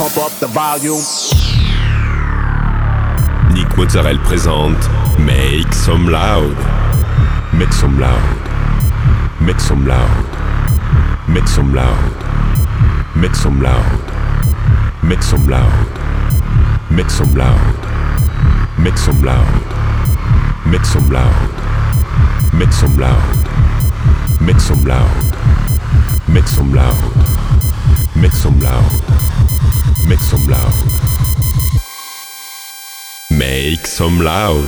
pump up the volume. Nick Mozzarella présente Make Some Loud. Make some loud. Make some loud. Make some loud. Make some loud. Make some loud. Make some loud. Make some loud. Make some loud. Make some loud. Make some loud. Make some loud. Make some loud. Make some loud. Make some loud.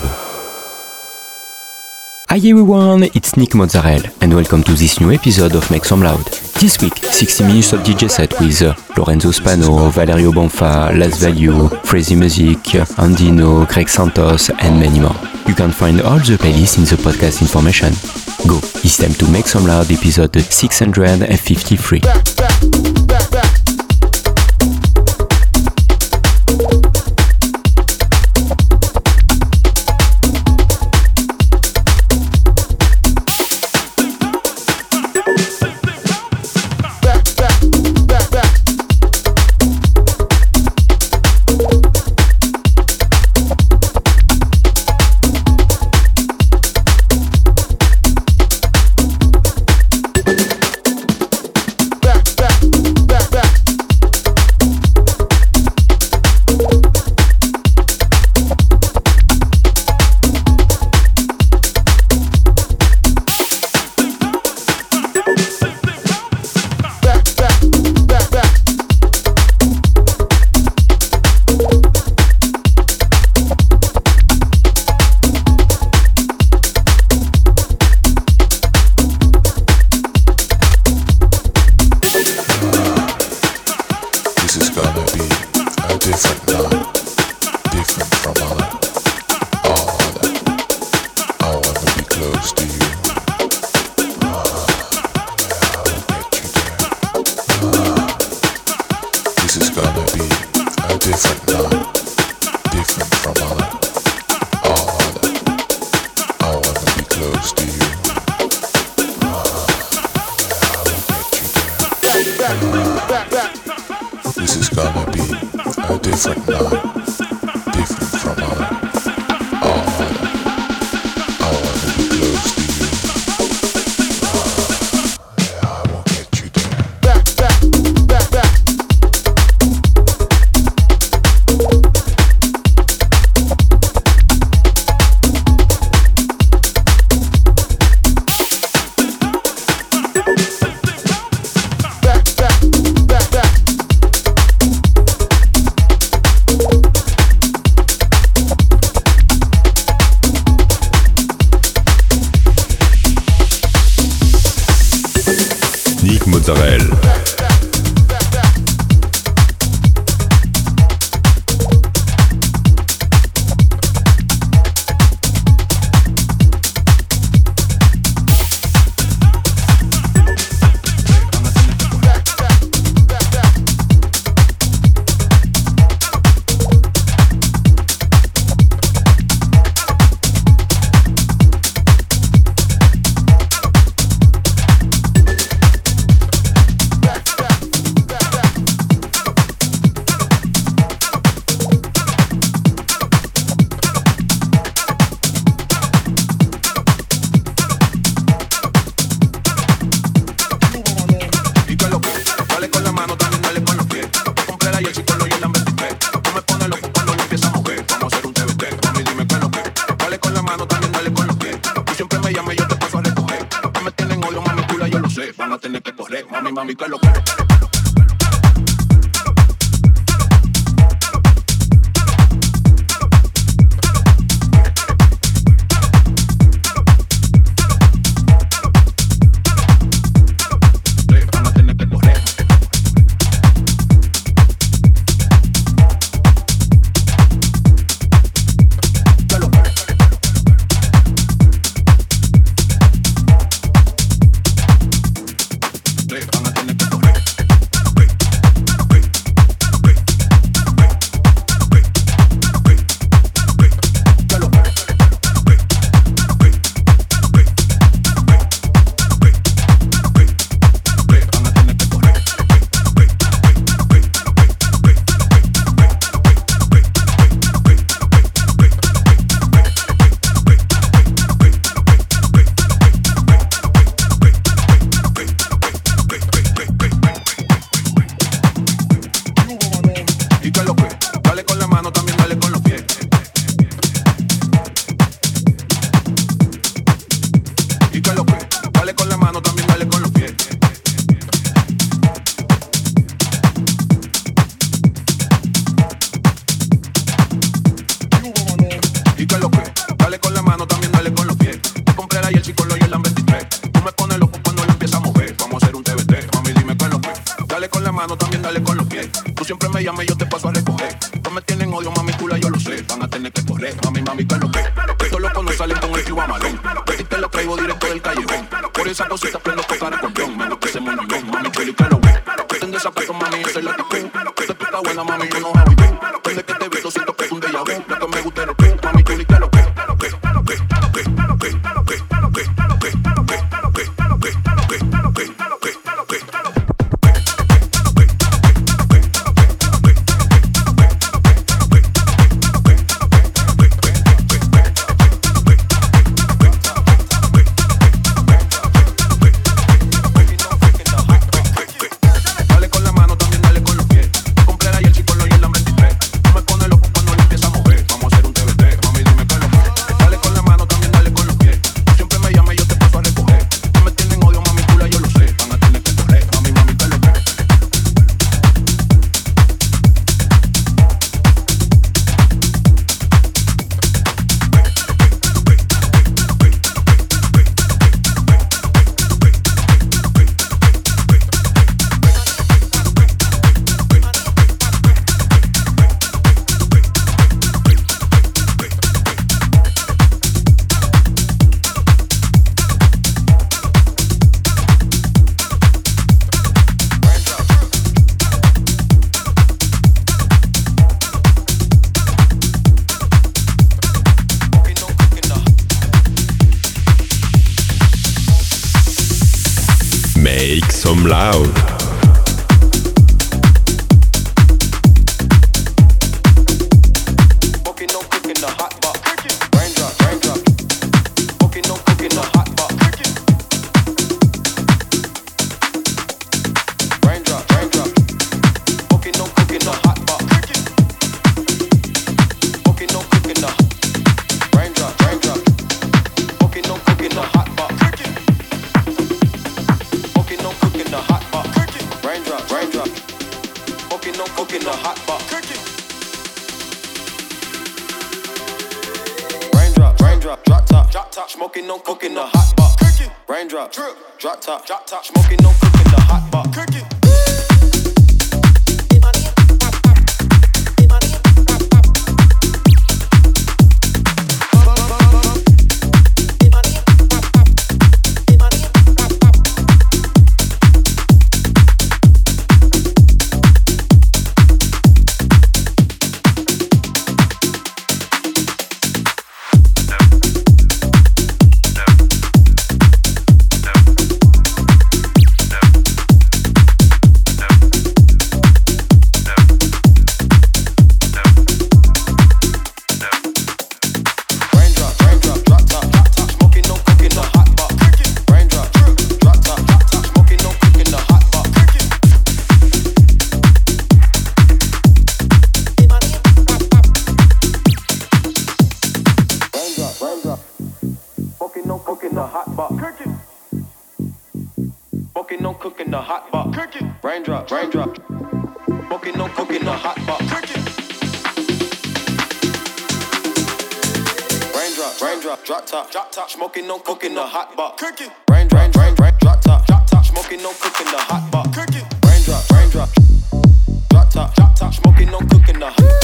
Hi everyone, it's Nick Mozzarella and welcome to this new episode of Make Some Loud. This week, 60 minutes of DJ set with Lorenzo Spano, Valerio Bonfa, Las Value, Crazy Music, Andino, Greg Santos and many more. You can find all the playlists in the podcast information. Go, it's time to Make Some Loud episode 653. Mozzarella. Mami, que lo que van a tener que correr. con los pies. Tú siempre me llamas y yo te paso a recoger. No me tienen odio, mami, cula, yo lo sé. Van a tener que correr, mami, que lo que. Estos locos no salen con el Cuba Malón. De ti te lo traigo directo del callejón. Por esa cosita prendo tocar acordeón. Me gusta ese moñón, mami, chuli, que lo que. Ten zapatos, mami, esa es la actitud. Esta puta buena, mami, yo no hago y tú. Desde que te vi, siento que es un déjà vu. Lo que me gusta es lo que, mami, chuli, que lo que. Make some loud. Smoking, no cooking, the hot pot. Raindrop, drop top, smoking, no cooking, the hot pot. Raindrop, smoking, no cooking, the hot pot. Raindrop, drop top, smoking, no cooking, the hot pot. Raindrop, drop top, smoking, no cooking, the hot pot. Raindrop, drop top, smoking, no cooking, the hot pot.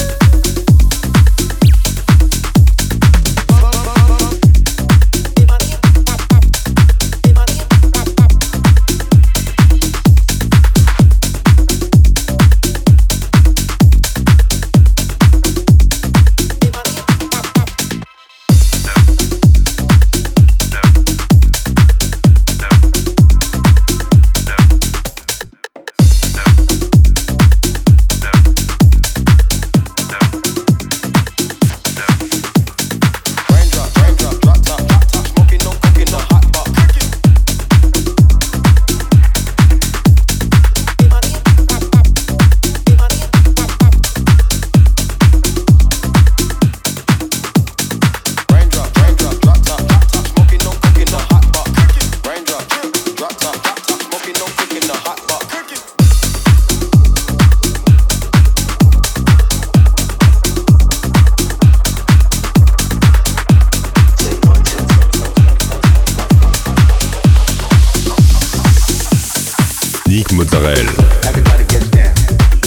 Nick Mozzarella. Everybody gets down.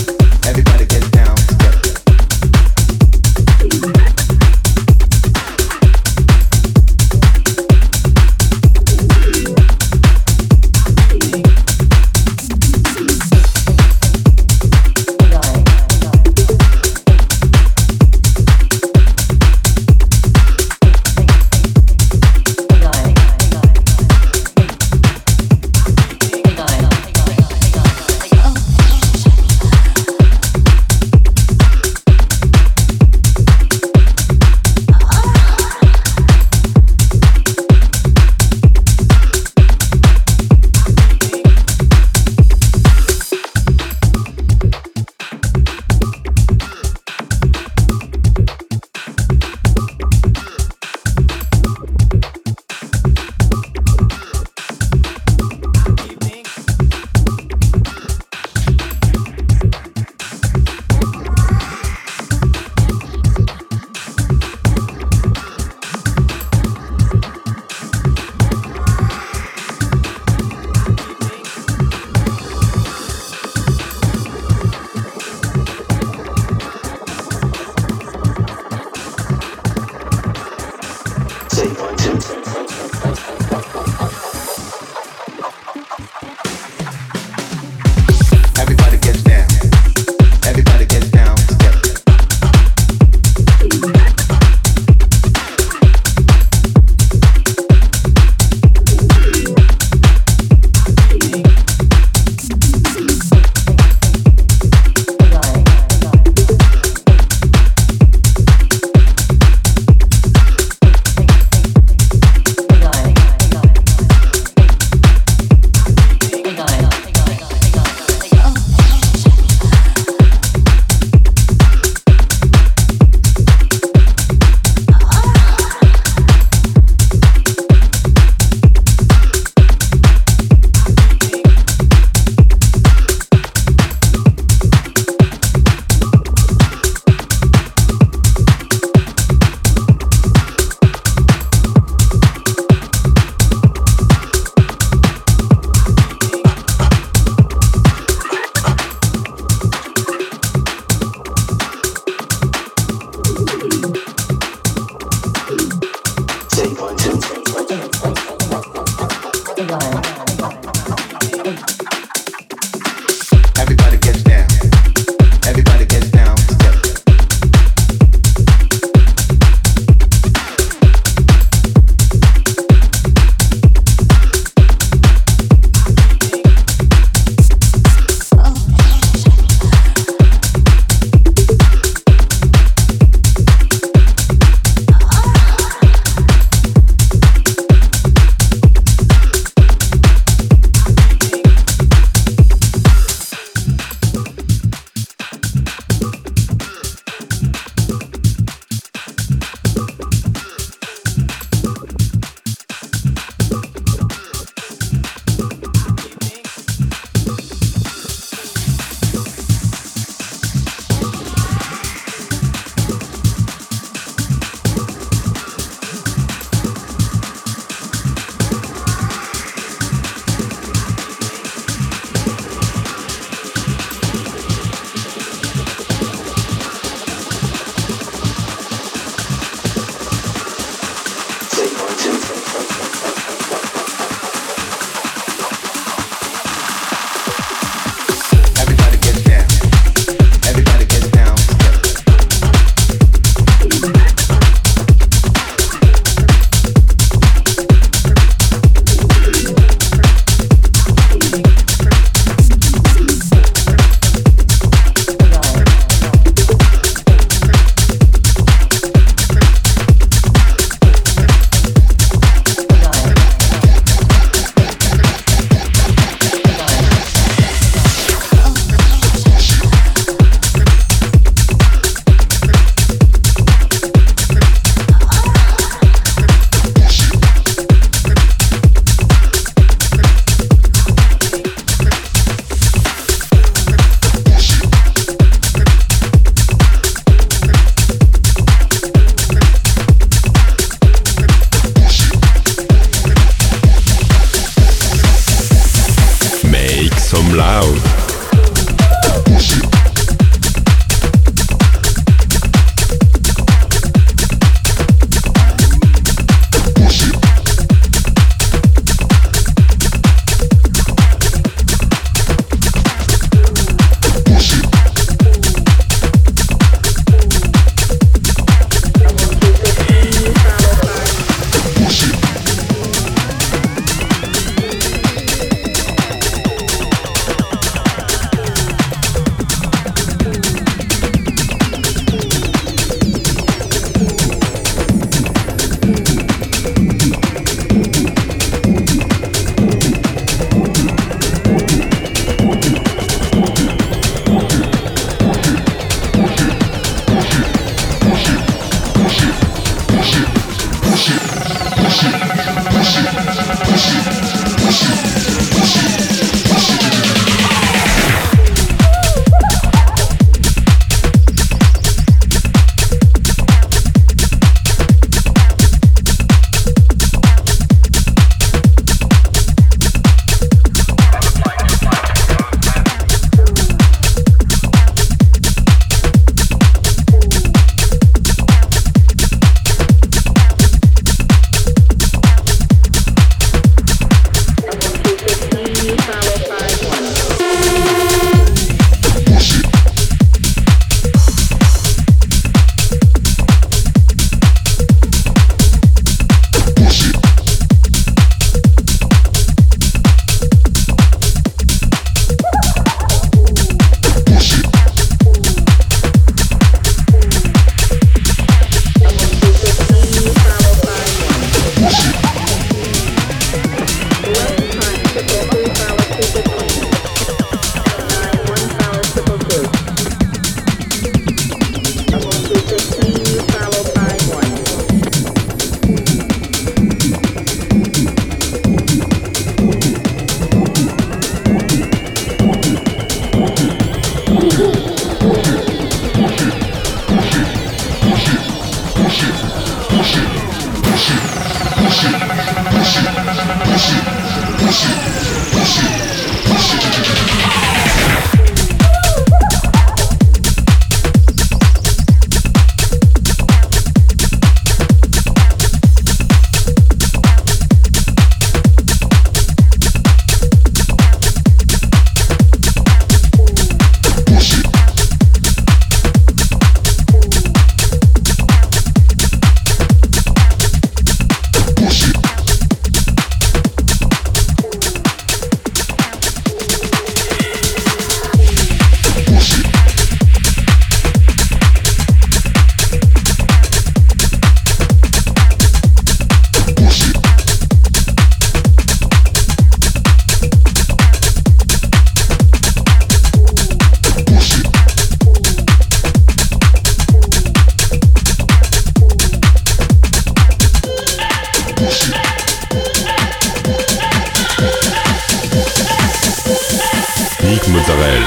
Mozzarella.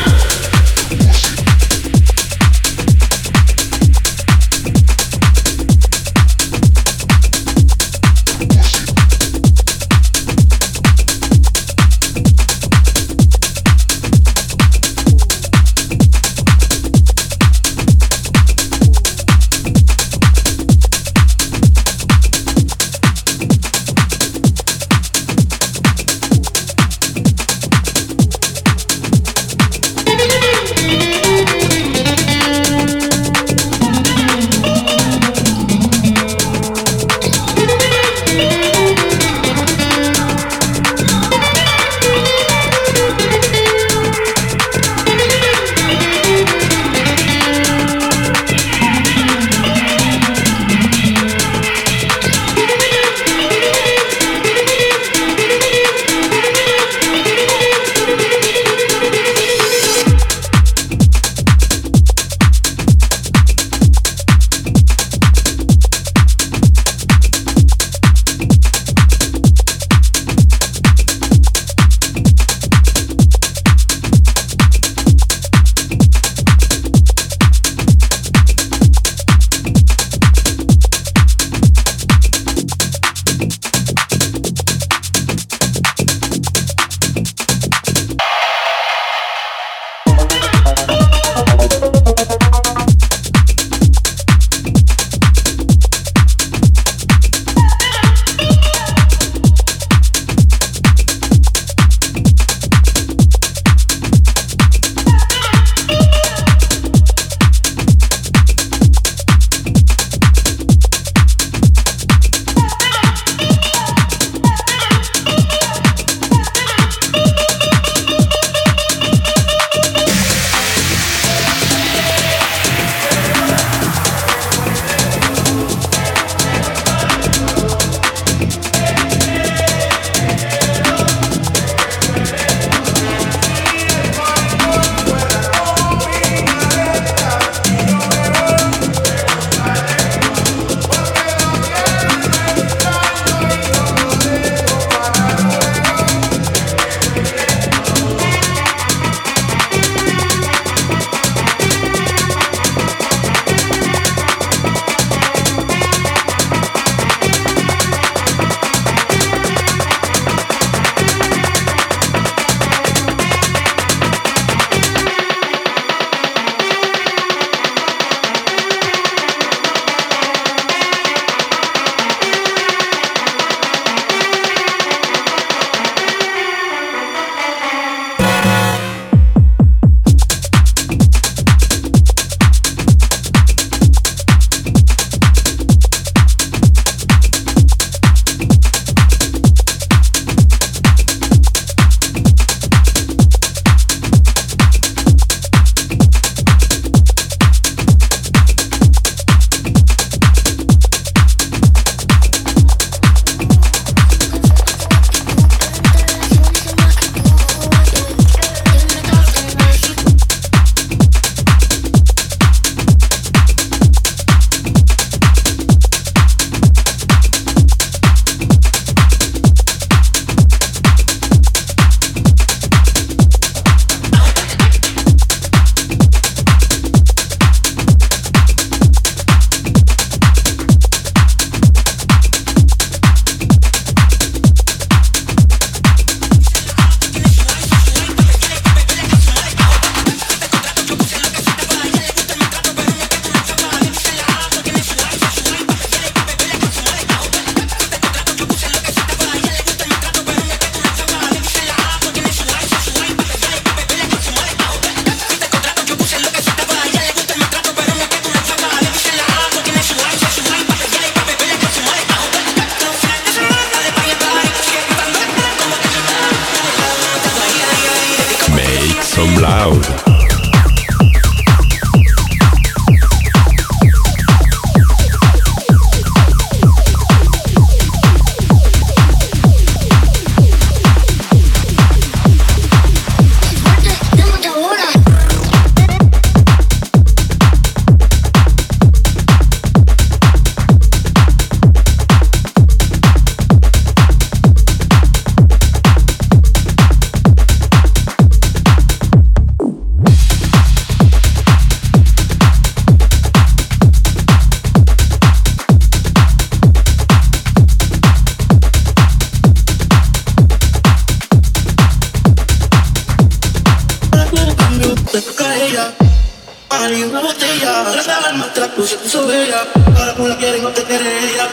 y una botella. Tras la alma te la puse, puso bella. Ahora como la quieren no te quiere ella.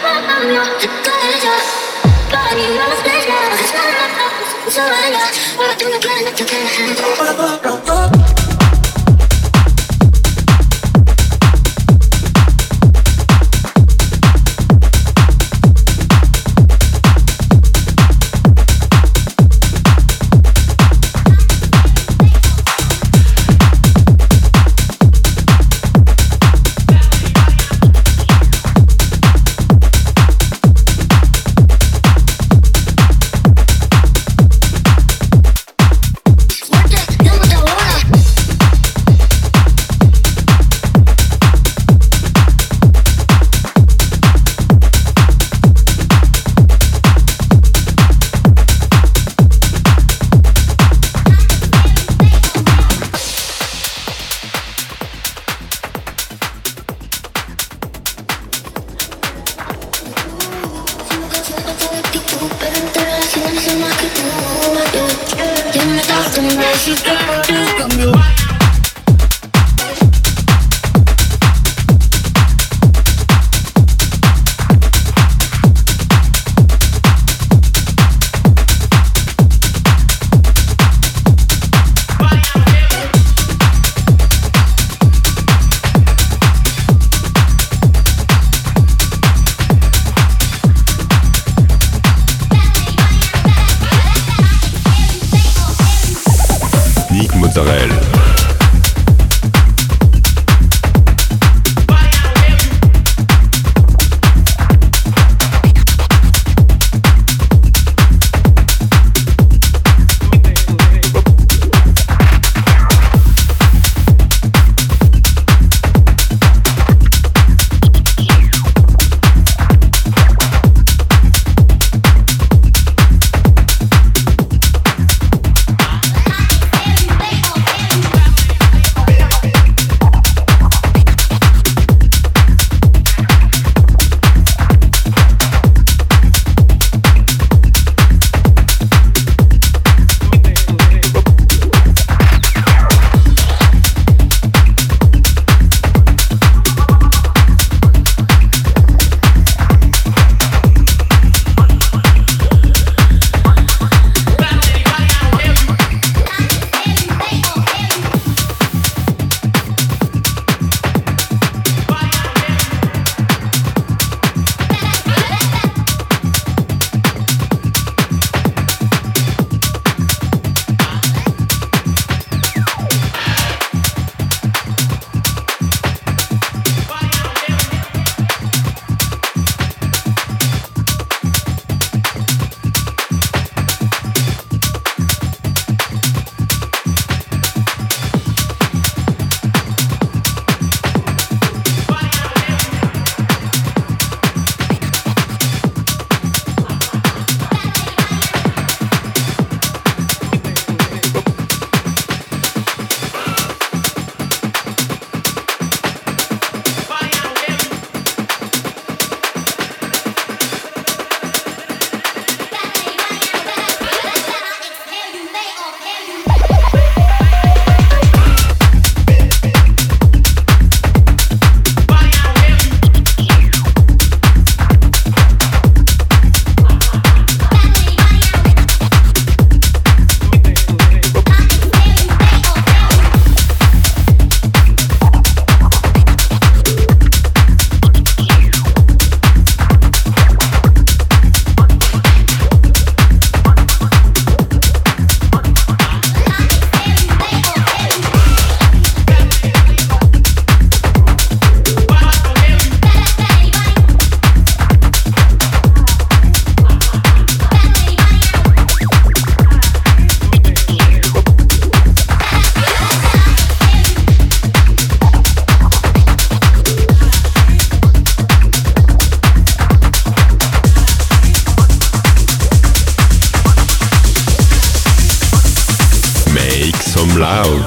Para mí una más bella. Tras la alma te la puse, puso bella. Ahora tú no quieres no te quiere ella. Loud.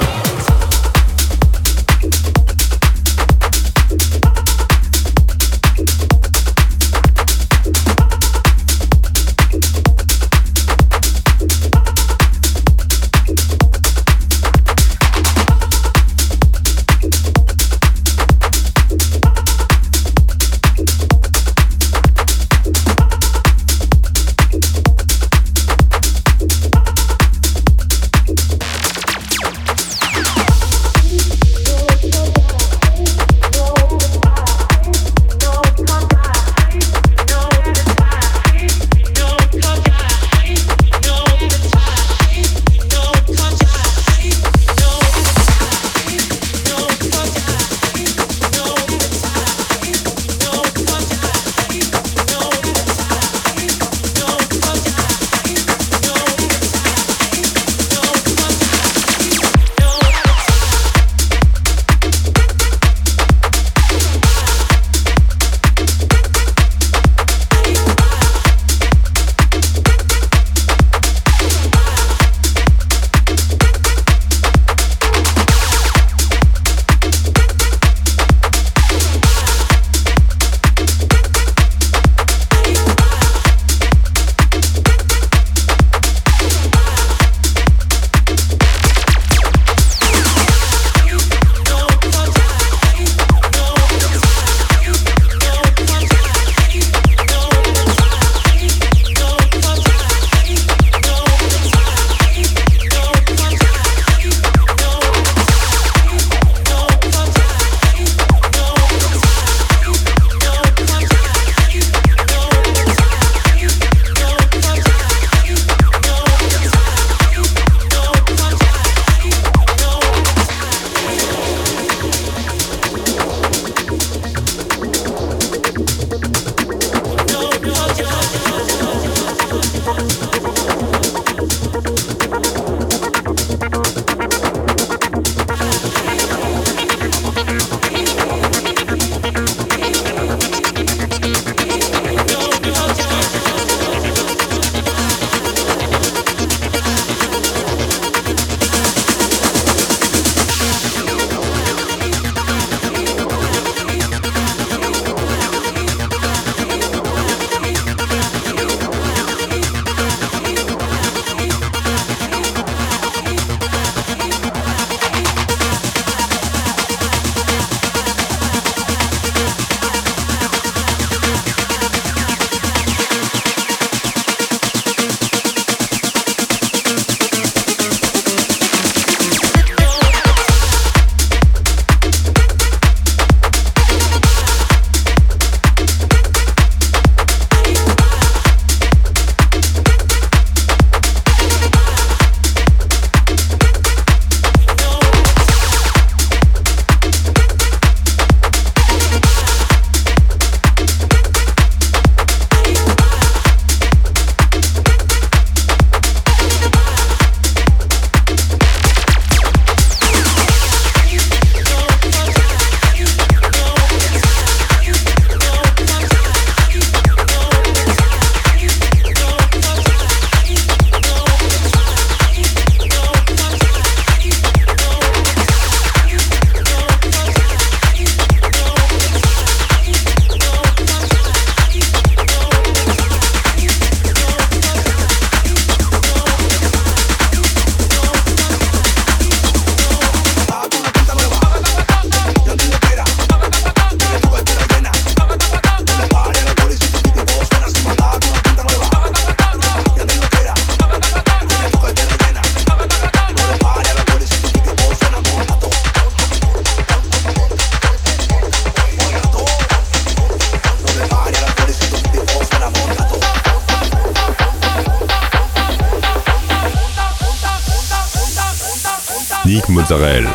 Sneak Mozzarella.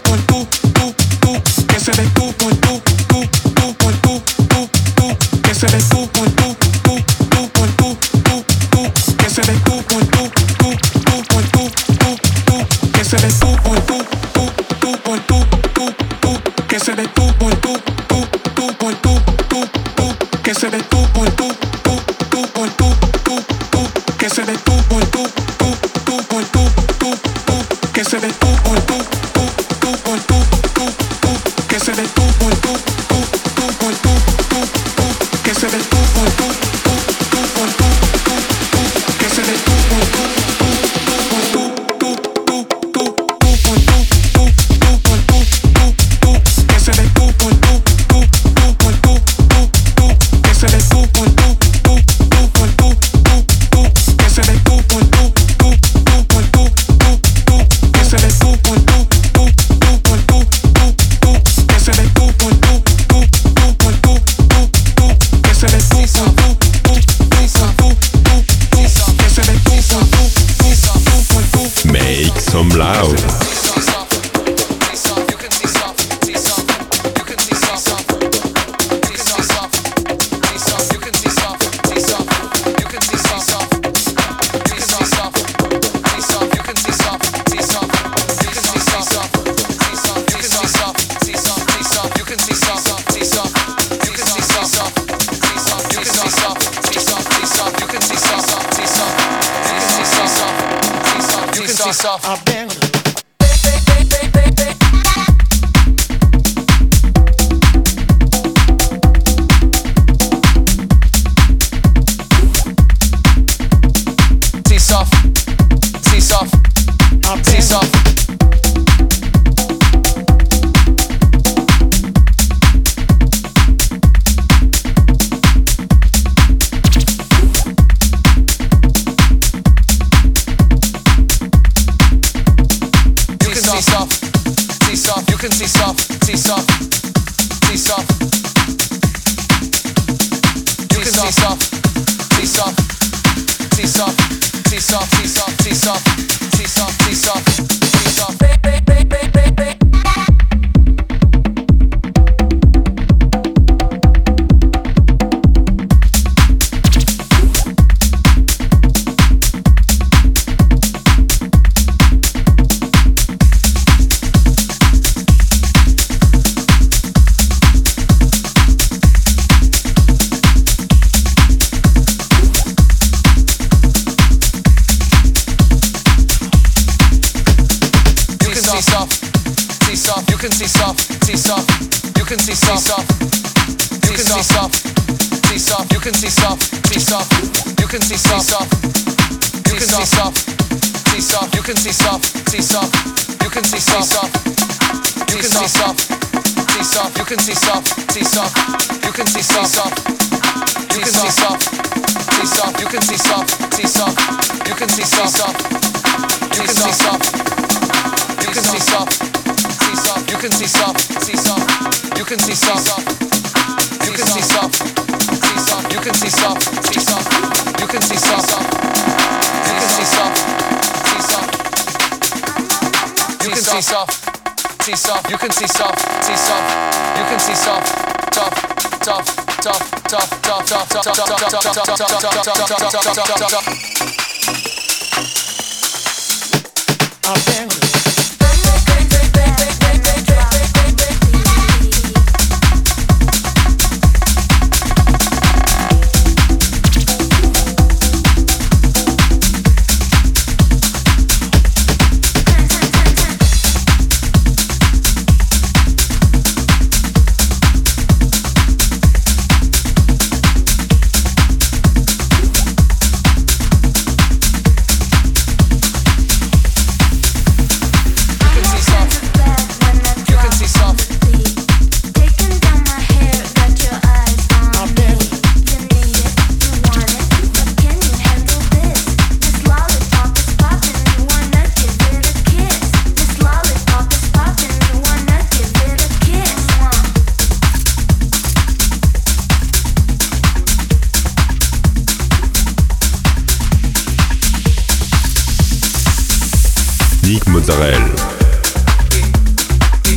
Mozzarella.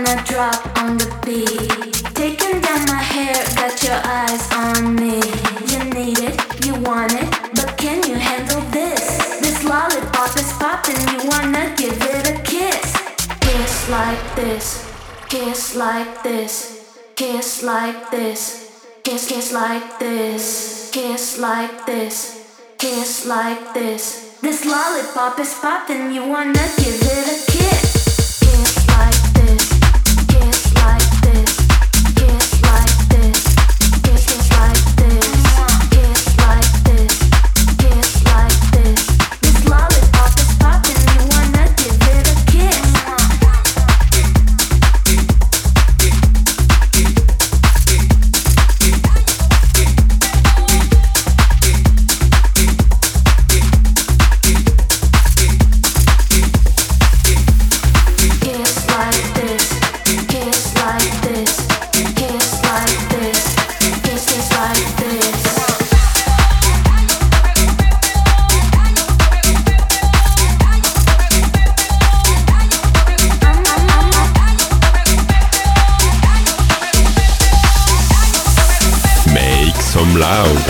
wanna drop on the beat. Taking down my hair, got your eyes on me. You need it, you want it, but can you handle this? This lollipop is popping, you wanna give it a kiss. Kiss like this, kiss like this, kiss like this, kiss kiss like this, kiss like this, kiss like this. This lollipop is popping, you wanna give it a kiss. Kiss like this, kiss like this, kiss like this, kiss kiss like this, kiss like this, kiss like this. This lollipop is popping, you wanna give it a kiss. Some loud.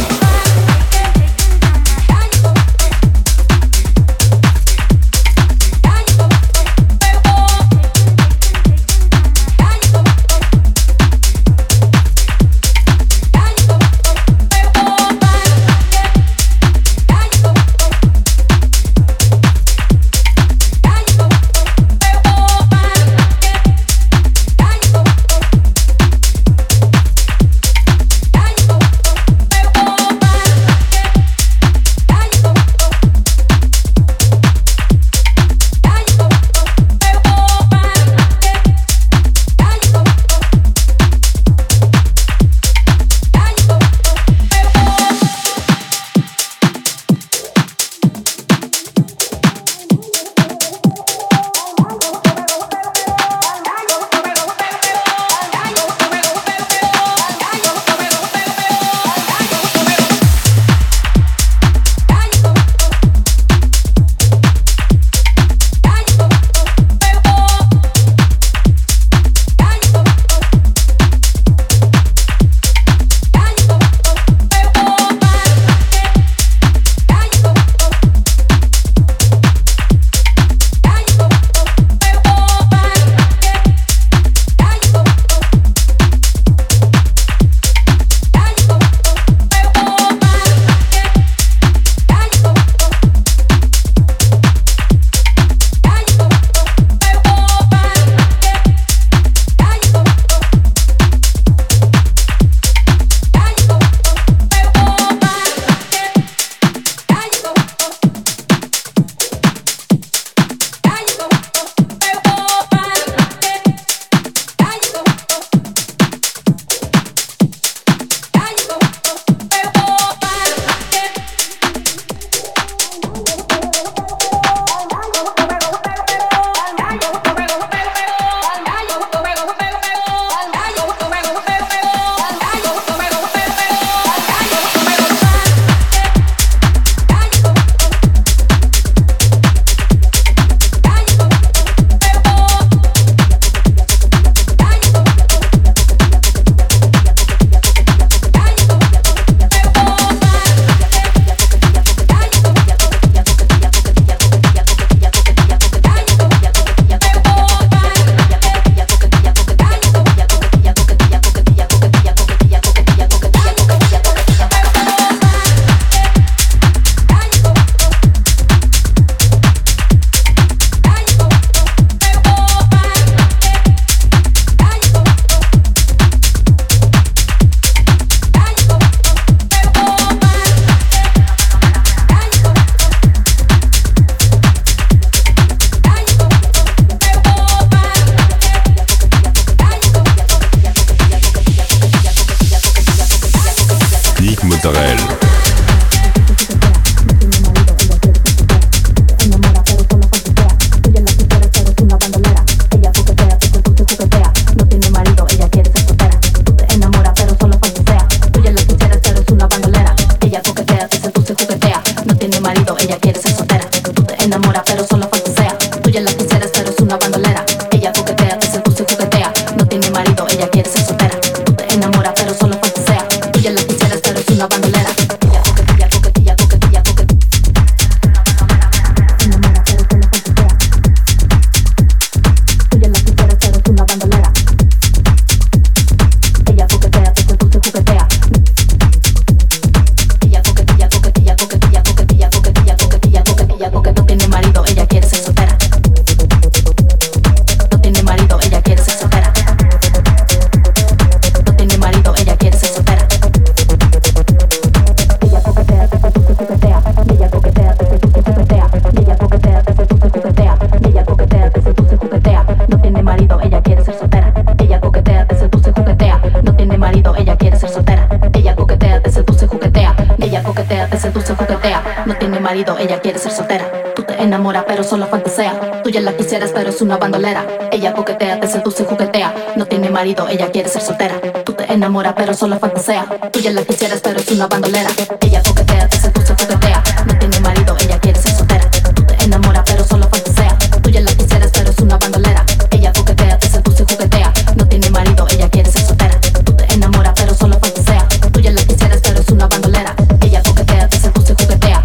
marido, ella quiere ser soltera. Tú te enamoras pero solo fantasea. Tú ya la quisieras pero es una bandolera. Ella coquetea, te seduce y juguetea. No tiene marido, ella quiere ser soltera. Tú te enamoras pero solo fantasea. Tú ya la quisieras pero es una bandolera. Ella coquetea, te seduce y juguetea. No tiene marido, ella quiere ser soltera. Tú te enamoras pero solo fantasea. Tú ya la quisieras pero es una bandolera. Ella coquetea, te seduce y juguetea. No tiene marido, ella quiere ser soltera. Tú te enamoras pero solo fantasea. Tú ya la quisieras pero es una bandolera. Ella coquetea, te seduce y juguetea.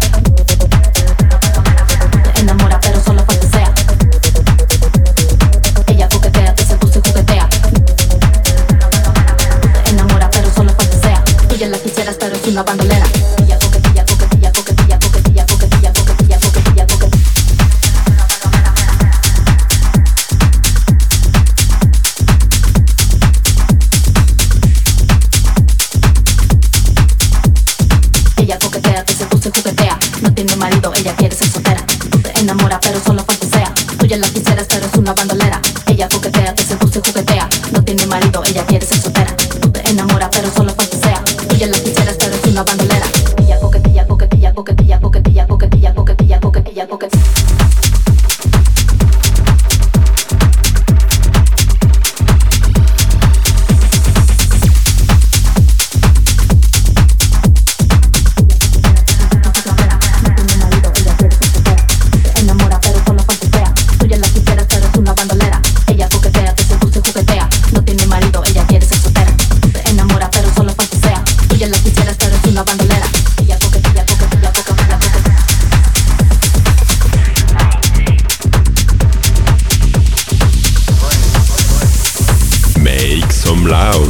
Te enamora pero solo fantasea. Ella coquetea, te seduce y juguetea. Te enamora pero solo fantasea. Tú ya la quisieras pero es una bandolera. Ella coquetea, coquetea, coquetea, coquetea, coquetea, coquetea, coquetea, coquetea. Ella coquetea, te seduce, juguetea. No tiene marido, ella quiere ser soltera. Tú te enamoras pero solo fantasea. Tú ya la quisieras pero es una bandolera. Ella coquetea, te seduce, juguetea. No tiene marido, ella quiere ser soltera. Tú te enamoras pero solo fantasea. Tú ya la quisieras pero es una bandolera. Ella coquetea, coquetea, coquetea, coquetea, coquetea, coquetea, coquetea, coquetea. Make some loud.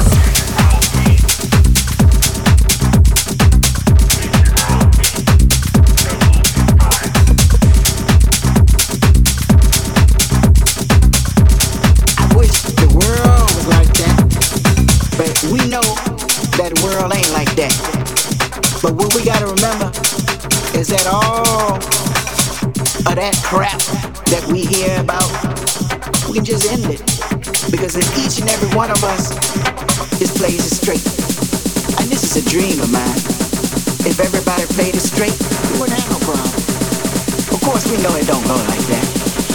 I wish the world was like that, but we know that the world ain't like that. But what we gotta remember is that all of that crap that we hear about, we can just end it. Because if each and every one of us just plays it straight, and this is a dream of mine, if everybody played it straight, we wouldn't have no problem. Of course we know it don't go like that.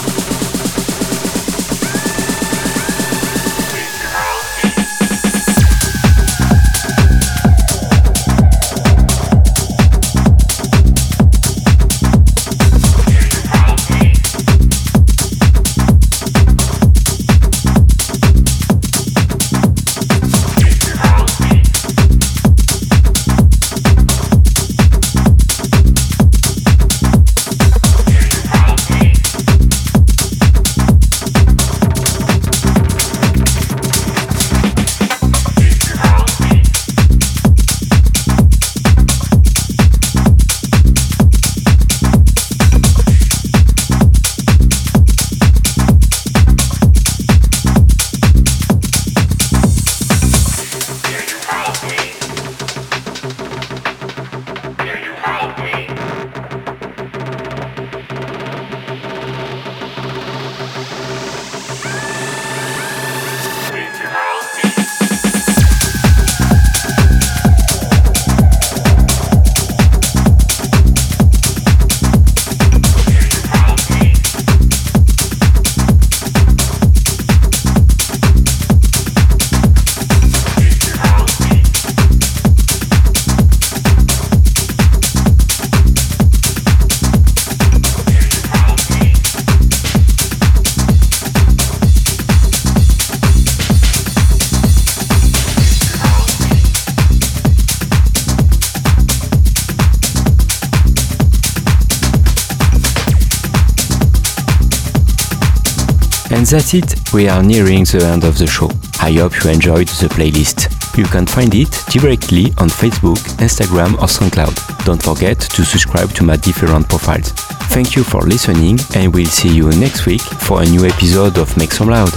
And that's it, we are nearing the end of the show. I hope you enjoyed the playlist. You can find it directly on Facebook, Instagram or SoundCloud. Don't forget to subscribe to my different profiles. Thank you for listening and we'll see you next week for a new episode of Make Some Loud.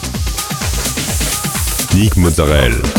Nick Mozzarella.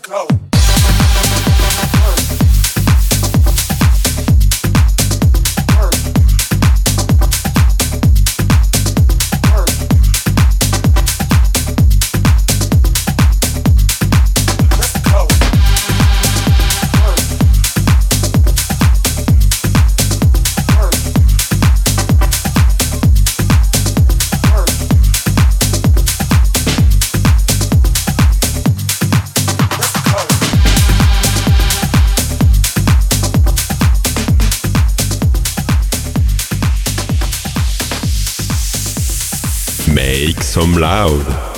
Make some loud.